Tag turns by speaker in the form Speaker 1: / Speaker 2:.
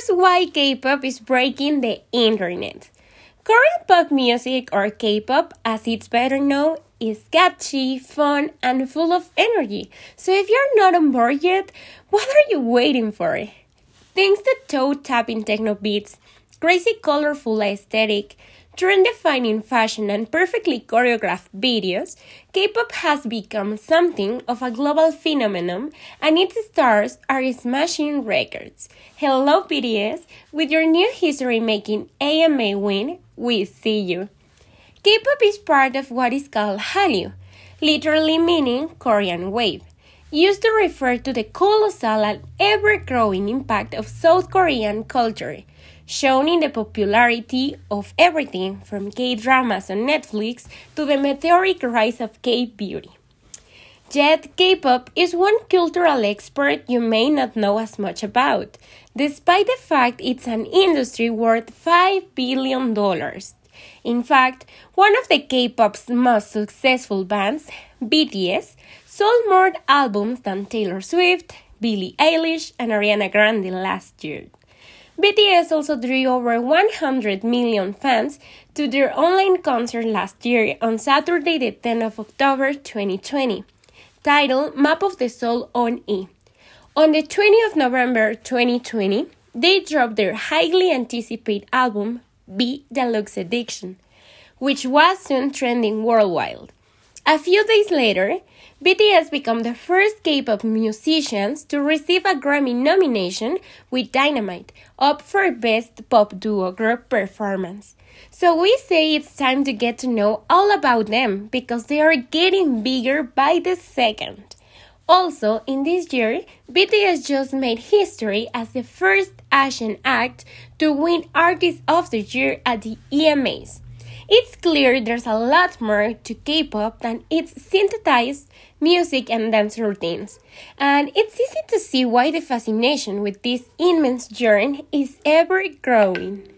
Speaker 1: is why K-pop is breaking the internet. Korean pop music, or K-pop as it's better known, is catchy, fun, and full of energy. So if you're not on board yet, what are you waiting for? Thanks to toe-tapping techno beats, crazy colorful aesthetic, trend-defining fashion, and perfectly choreographed videos, K-pop has become something of a global phenomenon, and its stars are smashing records. Hello BTS, with your new history-making AMA win, we see you. K-pop is part of what is called Hallyu, literally meaning Korean wave, used to refer to the colossal and ever-growing impact of South Korean culture, shown in the popularity of everything from K-dramas on Netflix to the meteoric rise of K-beauty. Yet, K-pop is one cultural expert you may not know as much about, despite the fact it's an industry worth $5 billion. In fact, one of the K-pop's most successful bands, BTS, sold more albums than Taylor Swift, Billie Eilish, and Ariana Grande last year. BTS also drew over 100 million fans to their online concert last year on Saturday, the 10th of October 2020, titled Map of the Soul on E. On the 20th of November 2020, they dropped their highly anticipated album, B Deluxe Edition, which was soon trending worldwide. A few days later, BTS became the first K-pop musicians to receive a Grammy nomination with Dynamite, up for Best Pop Duo Group Performance. So we say it's time to get to know all about them because they are getting bigger by the second. Also, in this year, BTS just made history as the first Asian act to win Artist of the Year at the EMAs. It's clear there's a lot more to K-pop than its synthesized music and dance routines, and it's easy to see why the fascination with this immense genre is ever growing.